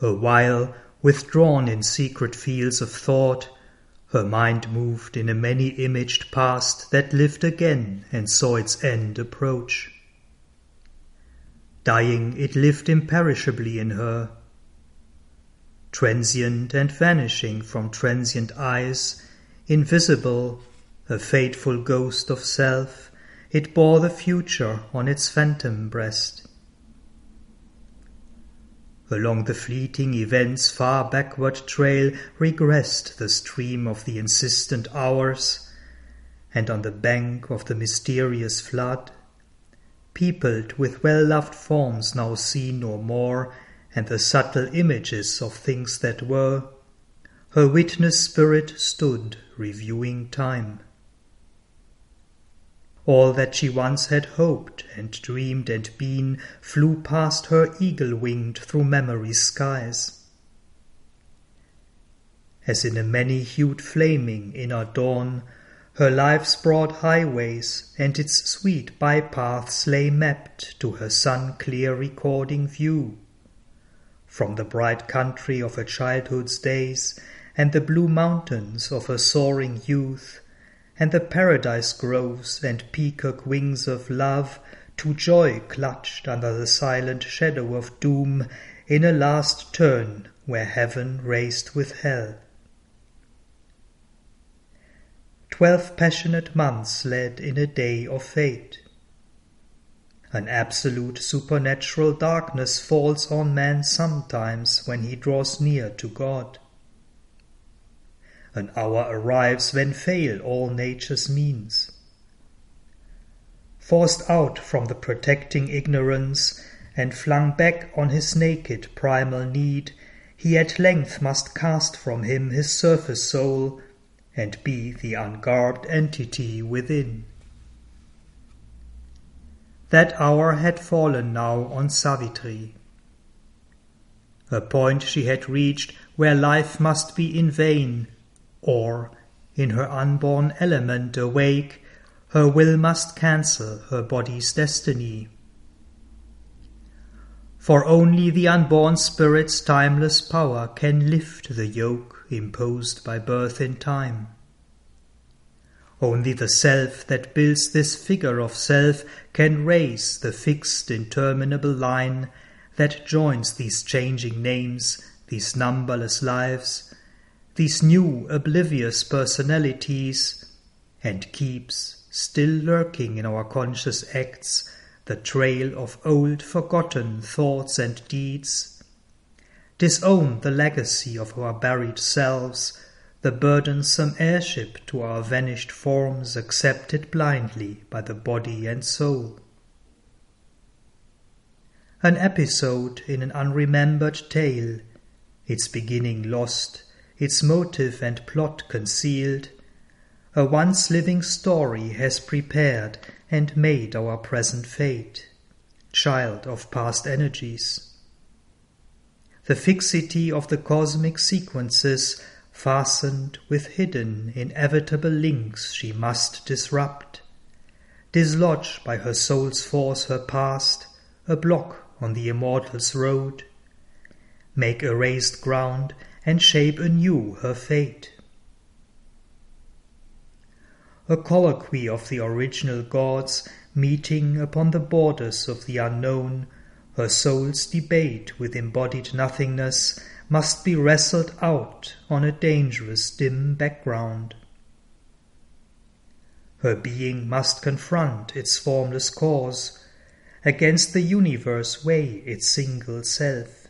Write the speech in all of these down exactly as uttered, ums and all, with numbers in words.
A while, withdrawn in secret fields of thought, her mind moved in a many-imaged past that lived again and saw its end approach. Dying, it lived imperishably in her. Transient and vanishing from transient eyes, invisible, a fateful ghost of self, it bore the future on its phantom breast. Along the fleeting event's far backward trail regressed the stream of the insistent hours, and on the bank of the mysterious flood, peopled with well-loved forms now seen no more, and the subtle images of things that were, her witness spirit stood reviewing time. All that she once had hoped and dreamed and been flew past her eagle-winged through memory's skies. As in a many-hued flaming inner dawn, her life's broad highways and its sweet bypaths lay mapped to her sun-clear recording view. From the bright country of her childhood's days, and the blue mountains of her soaring youth, and the paradise groves and peacock wings of love, to joy clutched under the silent shadow of doom, in a last turn where heaven raced with hell. Twelve passionate months led in a day of fate. An absolute supernatural darkness falls on man sometimes when he draws near to God. An hour arrives when fail all nature's means. Forced out from the protecting ignorance, and flung back on his naked primal need, he at length must cast from him his surface soul, and be the ungarbed entity within. That hour had fallen now on Savitri. A point she had reached where life must be in vain, or, in her unborn element awake, her will must cancel her body's destiny. For only the unborn spirit's timeless power can lift the yoke imposed by birth in time. Only the self that builds this figure of self can raise the fixed interminable line that joins these changing names, these numberless lives, these new oblivious personalities, and keeps, still lurking in our conscious acts, the trail of old forgotten thoughts and deeds. Disown the legacy of our buried selves, the burdensome heirship to our vanished forms accepted blindly by the body and soul. An episode in an unremembered tale, its beginning lost, its motive and plot concealed, a once living story has prepared and made our present fate, child of past energies. The fixity of the cosmic sequences, fastened with hidden, inevitable links, she must disrupt, dislodge by her soul's force her past, a block on the immortal's road, make erased ground and shape anew her fate. A colloquy of the original gods meeting upon the borders of the unknown, her soul's debate with embodied nothingness must be wrestled out on a dangerous dim background. Her being must confront its formless cause, against the universe weigh its single self.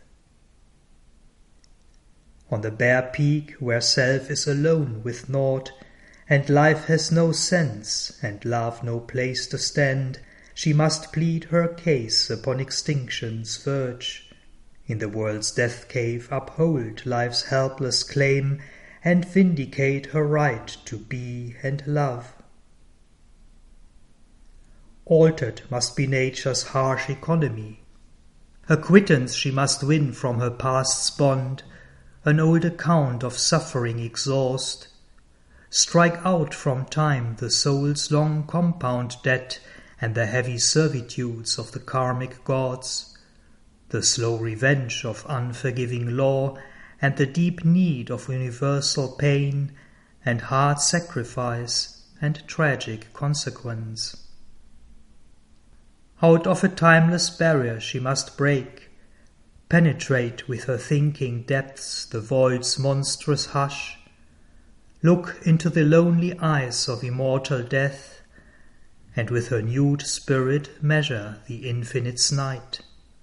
On the bare peak where self is alone with naught, and life has no sense, and love no place to stand, she must plead her case upon extinction's verge, in the world's death cave uphold life's helpless claim, and vindicate her right to be and love. Altered must be nature's harsh economy. A quittance she must win from her past's bond, an old account of suffering exhaust, strike out from time the soul's long compound debt and the heavy servitudes of the karmic gods, the the slow revenge of unforgiving law, and the deep need of universal pain, and hard sacrifice, and tragic consequence. Out of a timeless barrier she must break, penetrate with her thinking depths the void's monstrous hush, look into the lonely eyes of immortal death, and with her nude spirit measure the infinite's night.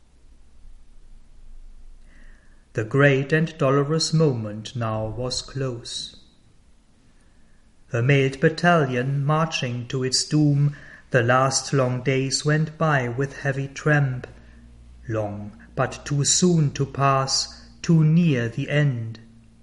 The great and dolorous moment now was close. A mailed battalion marching to its doom, the last long days went by with heavy tramp, long but too soon to pass, too near the end.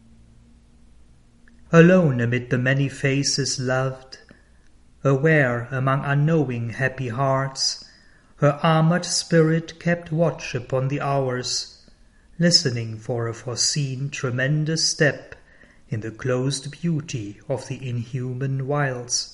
Alone amid the many faces loved, aware among unknowing happy hearts, her armored spirit kept watch upon the hours, listening for a foreseen tremendous step in the closed beauty of the inhuman wilds.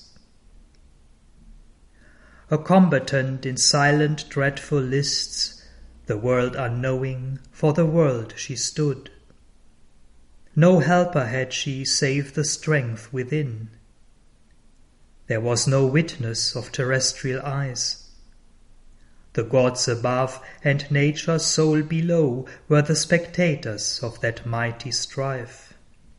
A combatant in silent dreadful lists, the world unknowing, for the world she stood. No helper had she save the strength within. There was no witness of terrestrial eyes. The gods above and nature's soul below were the spectators of that mighty strife.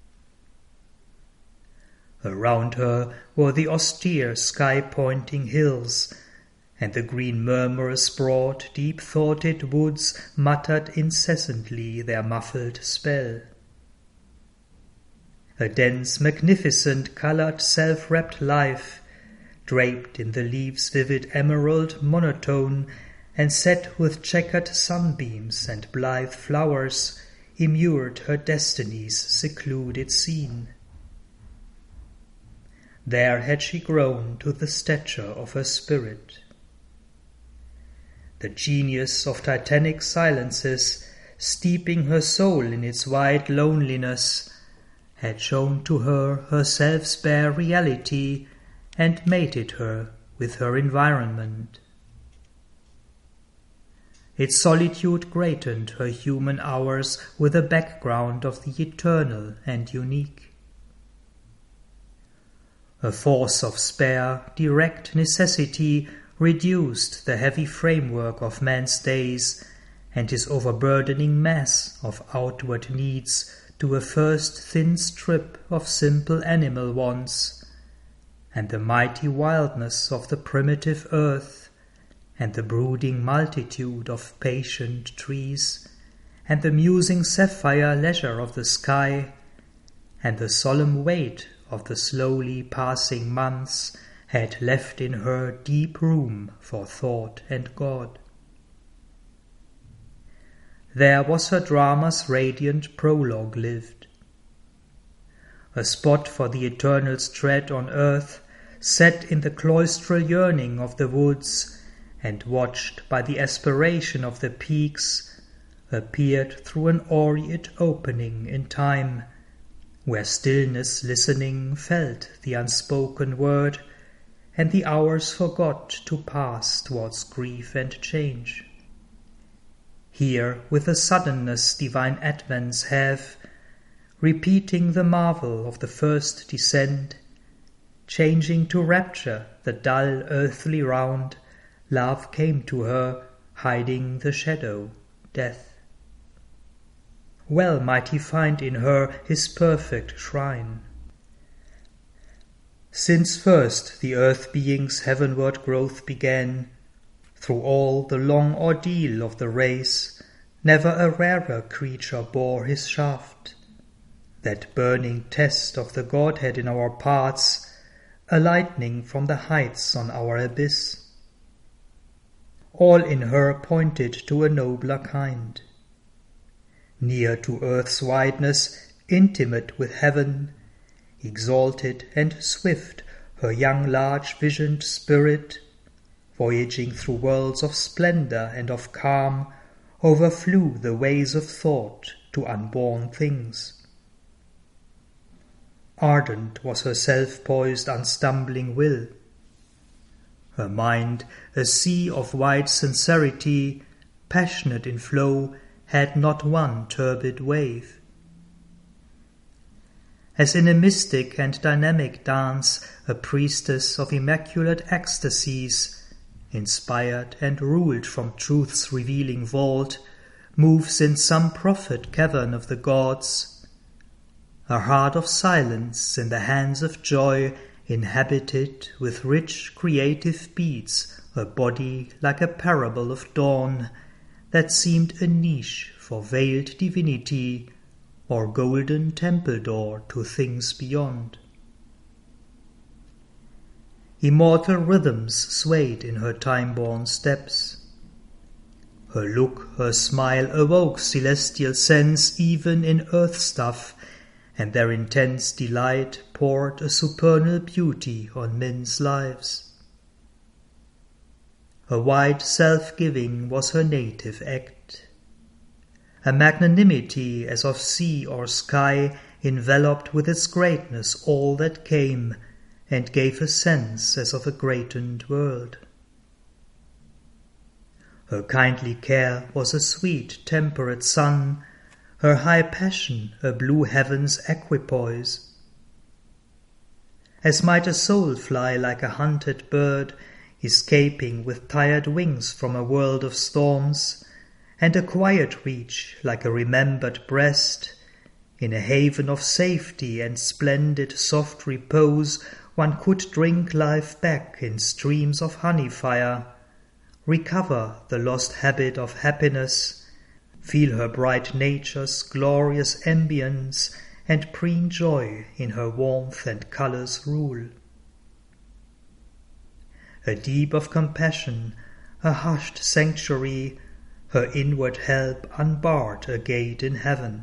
Around her were the austere sky-pointing hills, and the green murmurous broad, deep-thoughted woods muttered incessantly their muffled spell. A dense, magnificent, coloured, self-wrapped life, draped in the leaves' vivid emerald monotone, and set with checkered sunbeams and blithe flowers, immured her destiny's secluded scene. There had she grown to the stature of her spirit. The genius of titanic silences, steeping her soul in its wide loneliness, had shown to her her self's bare reality and mated her with her environment. Its solitude greatened her human hours with a background of the eternal and unique. A force of spare, direct necessity reduced the heavy framework of man's days and his overburdening mass of outward needs to a first thin strip of simple animal wants, and the mighty wildness of the primitive earth, and the brooding multitude of patient trees, and the musing sapphire leisure of the sky, and the solemn weight of the slowly passing months had left in her deep room for thought and God. There was her drama's radiant prologue lived. A spot for the eternal's tread on earth, set in the cloistral yearning of the woods, and watched by the aspiration of the peaks, appeared through an aureate opening in time, where stillness listening felt the unspoken word, and the hours forgot to pass towards grief and change. Here with a suddenness divine advents have, repeating the marvel of the first descent, changing to rapture the dull earthly round, love came to her, hiding the shadow, death. Well might he find in her his perfect shrine. Since first the earth-being's heavenward growth began, through all the long ordeal of the race, never a rarer creature bore his shaft, that burning test of the Godhead in our parts, a lightning from the heights on our abyss. All in her pointed to a nobler kind. Near to earth's wideness, intimate with heaven, exalted and swift her young large-visioned spirit, voyaging through worlds of splendor and of calm, overflew the ways of thought to unborn things. Ardent was her self-poised unstumbling will. Her mind, a sea of wide sincerity, passionate in flow, had not one turbid wave. As in a mystic and dynamic dance, a priestess of immaculate ecstasies, inspired and ruled from truth's revealing vault, moves in some prophet cavern of the gods, a heart of silence in the hands of joy, inhabited with rich creative beats, a body like a parable of dawn, that seemed a niche for veiled divinity, or golden temple door to things beyond. Immortal rhythms swayed in her time-born steps. Her look, her smile awoke celestial sense even in earth stuff, and their intense delight poured a supernal beauty on men's lives. Her wide self-giving was her native act. A magnanimity as of sea or sky enveloped with its greatness all that came, and gave a sense as of a greatened world. Her kindly care was a sweet temperate sun, her high passion a blue heaven's equipoise. As might a soul fly like a hunted bird, escaping with tired wings from a world of storms, and a quiet reach like a remembered breast, in a haven of safety and splendid soft repose, one could drink life back in streams of honey fire, recover the lost habit of happiness, feel her bright nature's glorious ambience, and preen joy in her warmth and colours rule. A deep of compassion, a hushed sanctuary, her inward help unbarred a gate in heaven.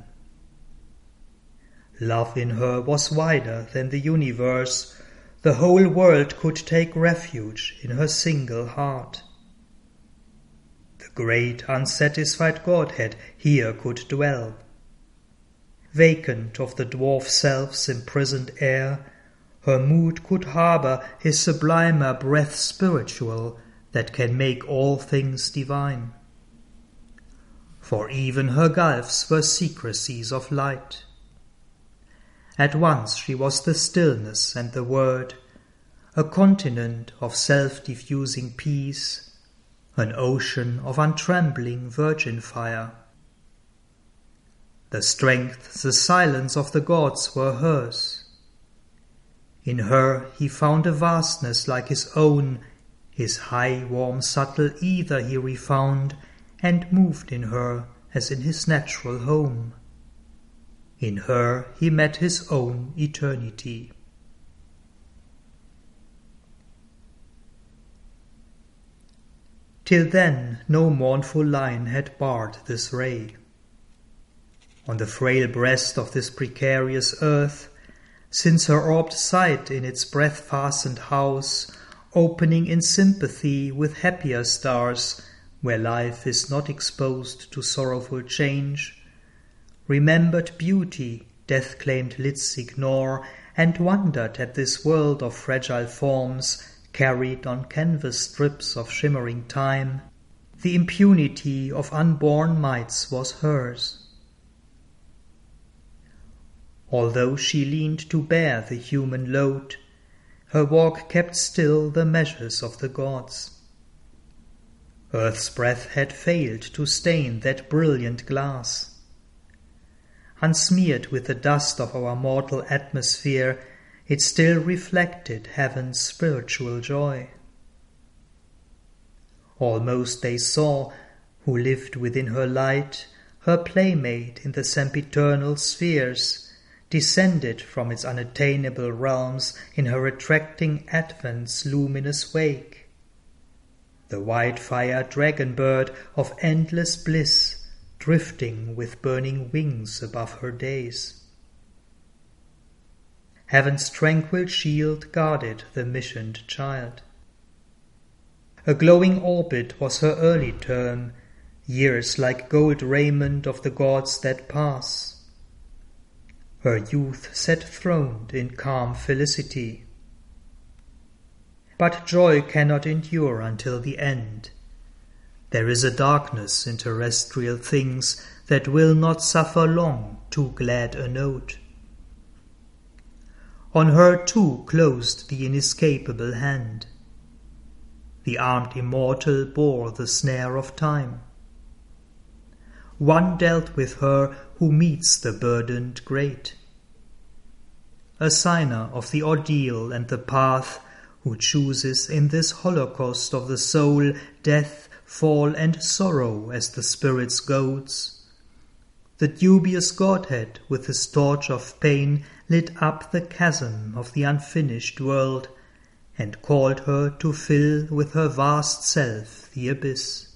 Love in her was wider than the universe, the whole world could take refuge in her single heart. The great unsatisfied Godhead here could dwell. Vacant of the dwarf self's imprisoned air, her mood could harbour his sublimer breath spiritual that can make all things divine. For even her gulfs were secrecies of light. At once she was the stillness and the word, a continent of self-diffusing peace, an ocean of untrembling virgin fire. The strength, the silence of the gods were hers. In her he found a vastness like his own, his high, warm, subtle ether he refound, and moved in her as in his natural home. In her he met his own eternity. Till then no mournful line had barred this ray. On the frail breast of this precarious earth, since her orbed sight in its breath-fastened house, opening in sympathy with happier stars, where life is not exposed to sorrowful change, remembered beauty death-claimed lids ignore, and wondered at this world of fragile forms, carried on canvas strips of shimmering time. The impunity of unborn mites was hers. Although she leaned to bear the human load, her walk kept still the measures of the gods. Earth's breath had failed to stain that brilliant glass. Unsmeared with the dust of our mortal atmosphere, it still reflected heaven's spiritual joy. Almost they saw, who lived within her light, her playmate in the sempiternal spheres, descended from its unattainable realms in her attracting advent's luminous wake. The white-fire dragon-bird of endless bliss, drifting with burning wings above her days. Heaven's tranquil shield guarded the missioned child. A glowing orbit was her early term, years like gold raiment of the gods that pass. Her youth sat throned in calm felicity. But joy cannot endure until the end. There is a darkness in terrestrial things that will not suffer long too glad a note. On her too closed the inescapable hand. The armed immortal bore the snare of time. One dealt with her who meets the burdened great. A signer of the ordeal and the path, who chooses in this holocaust of the soul death, fall, and sorrow as the spirit's goads. The dubious Godhead with his torch of pain lit up the chasm of the unfinished world, and called her to fill with her vast self the abyss.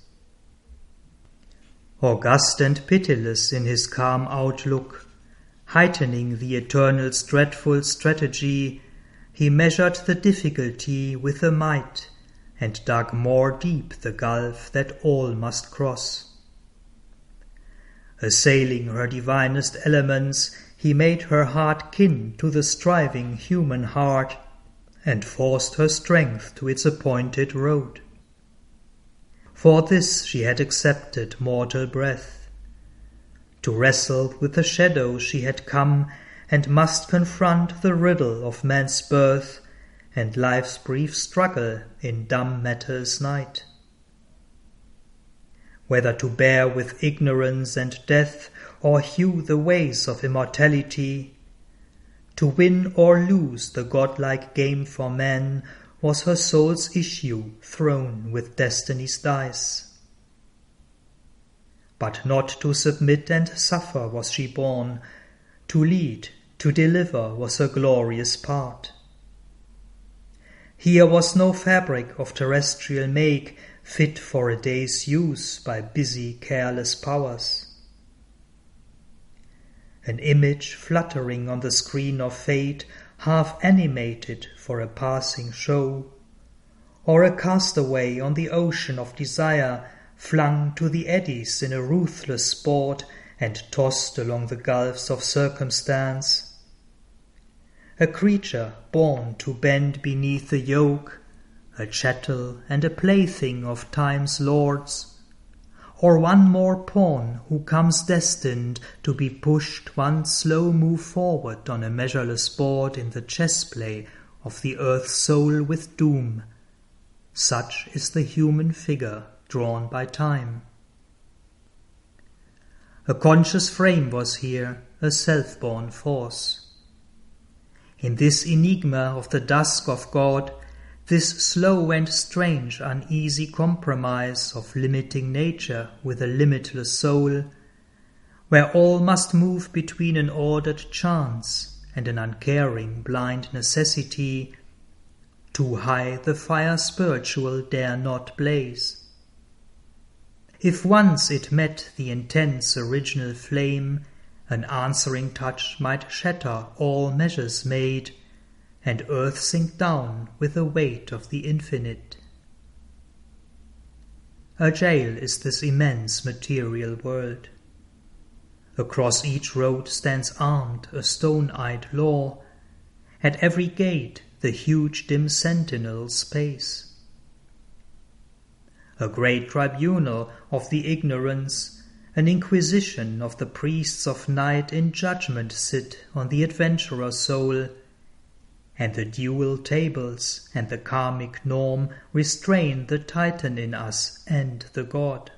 August and pitiless in his calm outlook, heightening the eternal's dreadful strategy, he measured the difficulty with a might, and dug more deep the gulf that all must cross. Assailing her divinest elements, he made her heart kin to the striving human heart, and forced her strength to its appointed road. For this she had accepted mortal breath. To wrestle with the shadow she had come, and must confront the riddle of man's birth, and life's brief struggle in dumb matter's night. Whether to bear with ignorance and death, or hew the ways of immortality, to win or lose the godlike game for man was her soul's issue thrown with destiny's dice. But not to submit and suffer was she born, to lead, to deliver was her glorious part. Here was no fabric of terrestrial make fit for a day's use by busy, careless powers. An image fluttering on the screen of fate, half animated for a passing show, or a castaway on the ocean of desire, flung to the eddies in a ruthless sport and tossed along the gulfs of circumstance. A creature born to bend beneath the yoke, a chattel and a plaything of time's lords, or one more pawn who comes destined to be pushed one slow move forward on a measureless board in the chess-play of the earth's soul with doom. Such is the human figure drawn by time. A conscious frame was here, a self-born force. In this enigma of the dusk of God, this slow and strange uneasy compromise of limiting nature with a limitless soul, where all must move between an ordered chance and an uncaring blind necessity, too high the fire spiritual dare not blaze. If once it met the intense original flame, an answering touch might shatter all measures made, and earth sink down with the weight of the infinite. A jail is this immense material world. Across each road stands armed a stone-eyed law, at every gate the huge dim sentinels pace. A great tribunal of the ignorance, an inquisition of the priests of night in judgment sit on the adventurer soul, and the dual tables and the karmic norm restrain the Titan in us and the God.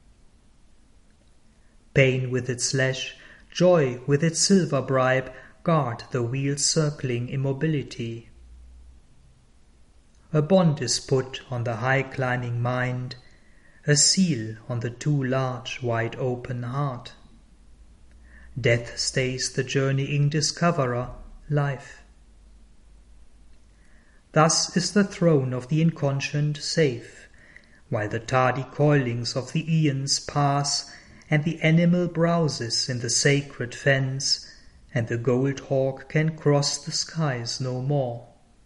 Pain with its lash, joy with its silver bribe, guard the wheel's circling immobility. A bond is put on the high-climbing mind, a seal on the too large, wide-open heart. Death stays the journeying discoverer, life. Thus is the throne of the inconscient safe, while the tardy coilings of the aeons pass, and the animal browses in the sacred fence, and the gold hawk can cross the skies no more.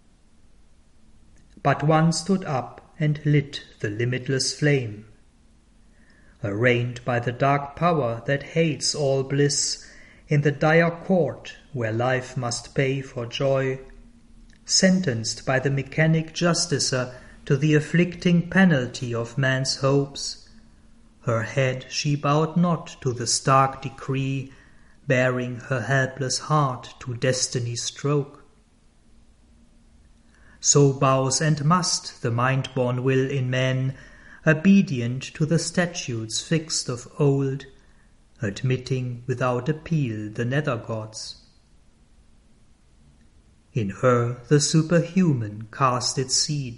But one stood up and lit the limitless flame. Arraigned by the dark power that hates all bliss, in the dire court where life must pay for joy, sentenced by the mechanic justicer to the afflicting penalty of man's hopes, her head she bowed not to the stark decree, baring her helpless heart to destiny's stroke. So bows and must the mind-born will in man, obedient to the statutes fixed of old, admitting without appeal the nether gods. In her the superhuman cast its seed.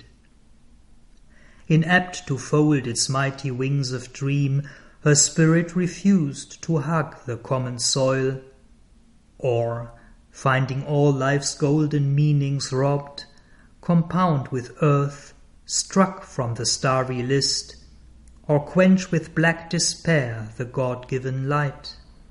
Inapt to fold its mighty wings of dream, her spirit refused to hug the common soil, or, finding all life's golden meanings robbed, compound with earth, struck from the starry list, or quench with black despair the God-given light.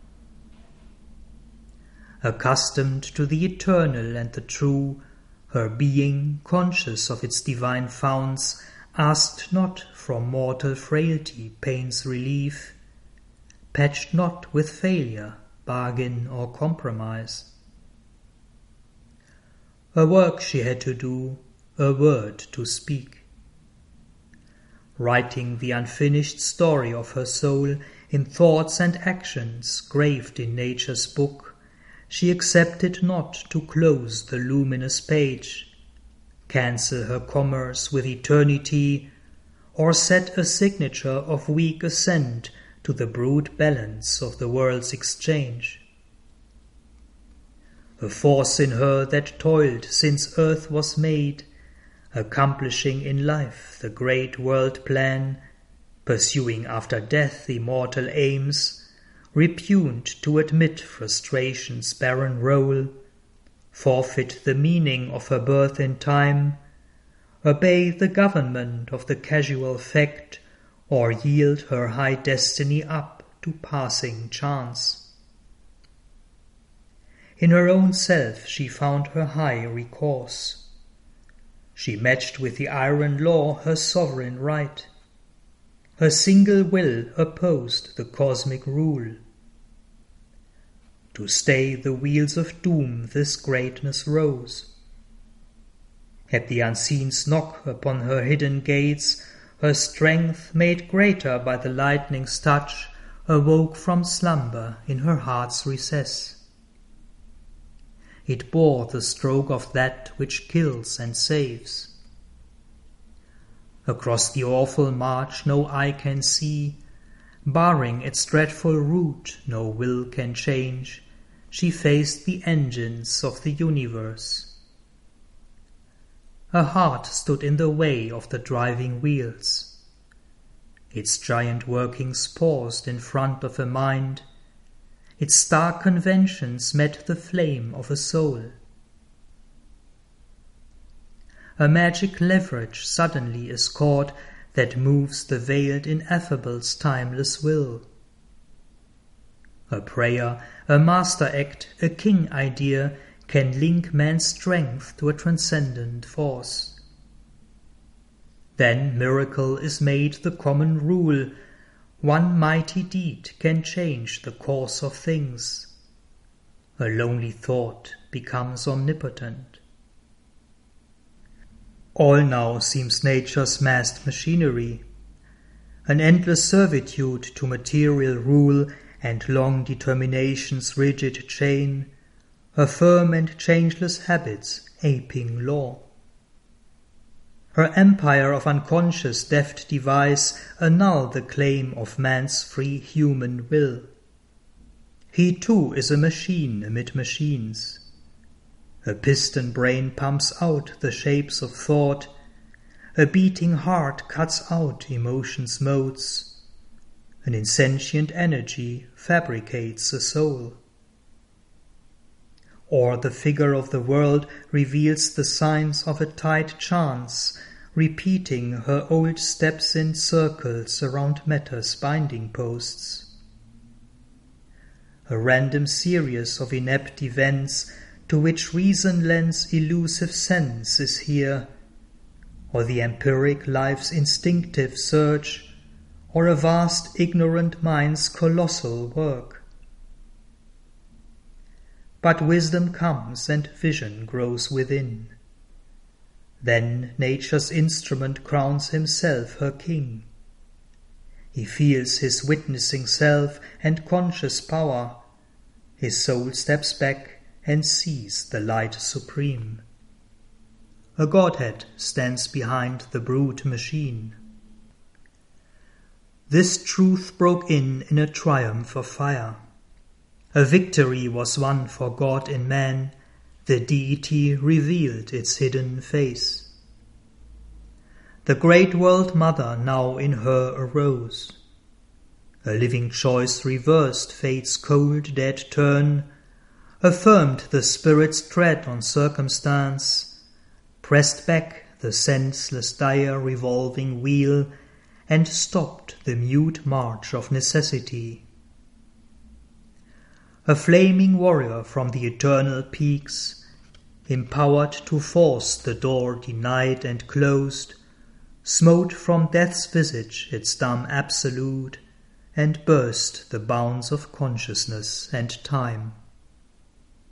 Accustomed to the eternal and the true, her being, conscious of its divine founts, asked not from mortal frailty pain's relief, patched not with failure, bargain or compromise. A work she had to do, a word to speak. Writing the unfinished story of her soul in thoughts and actions graved in nature's book, she accepted not to close the luminous page, cancel her commerce with eternity, or set a signature of weak assent to the brute balance of the world's exchange. A force in her that toiled since earth was made, accomplishing in life the great world plan, pursuing after death immortal aims, repugned to admit frustration's barren role, forfeit the meaning of her birth in time, obey the government of the casual fact, or yield her high destiny up to passing chance. In her own self she found her high recourse. She matched with the iron law her sovereign right. Her single will opposed the cosmic rule. To stay the wheels of doom this greatness rose. At the unseen's knock upon her hidden gates, her strength, made greater by the lightning's touch, awoke from slumber in her heart's recess. It bore the stroke of that which kills and saves. Across the awful march no eye can see, barring its dreadful route no will can change, she faced the engines of the universe. Her heart stood in the way of the driving wheels. Its giant workings paused in front of a mind. Its stark conventions met the flame of a soul. A magic leverage suddenly is caught that moves the veiled ineffable's timeless will. A prayer, a master act, a king idea can link man's strength to a transcendent force. Then miracle is made the common rule. One mighty deed can change the course of things. A lonely thought becomes omnipotent. All now seems nature's massed machinery, an endless servitude to material rule and long determination's rigid chain, her firm and changeless habits aping law. Her empire of unconscious deft device annul the claim of man's free human will. He too is a machine amid machines. A piston brain pumps out the shapes of thought, a beating heart cuts out emotion's modes, an insentient energy fabricates a soul. Or the figure of the world reveals the signs of a tight chance, repeating her old steps in circles around matter's binding posts. A random series of inept events to which reason lends elusive sense is here, or the empiric life's instinctive search, or a vast ignorant mind's colossal work. But wisdom comes and vision grows within. Then nature's instrument crowns himself her king. He feels his witnessing self and conscious power. His soul steps back and sees the light supreme. A Godhead stands behind the brute machine. This truth broke in in a triumph of fire. A victory was won for God in man. The deity revealed its hidden face. The great world mother now in her arose. A living choice reversed fate's cold dead turn, affirmed the spirit's tread on circumstance, pressed back the senseless dire revolving wheel, and stopped the mute march of necessity. A flaming warrior from the eternal peaks, empowered to force the door denied and closed, smote from death's visage its dumb absolute, and burst the bounds of consciousness and time.